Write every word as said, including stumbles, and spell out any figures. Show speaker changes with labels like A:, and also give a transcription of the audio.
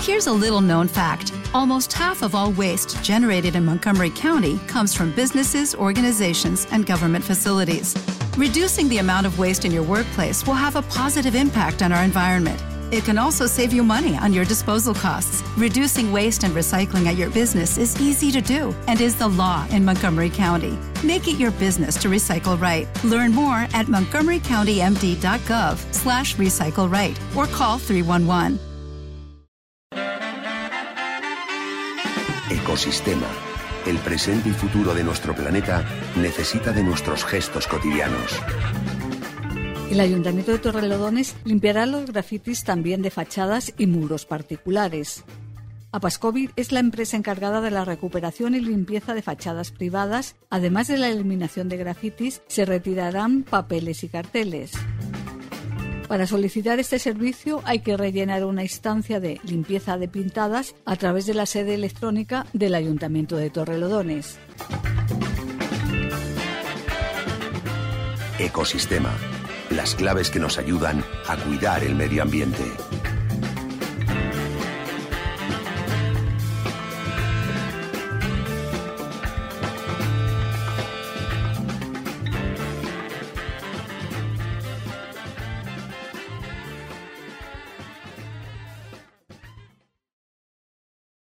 A: Here's a little-known fact. Almost half of all waste generated in Montgomery County comes from businesses, organizations, and government facilities. Reducing the amount of waste in your workplace will have a positive impact on our environment. It can also save you money on your disposal costs. Reducing waste and recycling at your business is easy to do and is the law in Montgomery County. Make it your business to recycle right. Learn more at montgomerycountymd.gov slash recycle right or call three one one.
B: Ecosistema. El presente y futuro de nuestro planeta necesita de nuestros gestos cotidianos.
C: El Ayuntamiento de Torrelodones limpiará los grafitis también de fachadas y muros particulares. Apascovid es la empresa encargada de la recuperación y limpieza de fachadas privadas. Además de la eliminación de grafitis, se retirarán papeles y carteles. Para solicitar este servicio hay que rellenar una instancia de limpieza de pintadas a través de la sede electrónica del Ayuntamiento de Torrelodones.
B: Ecosistema. Las claves que nos ayudan a cuidar el medio ambiente.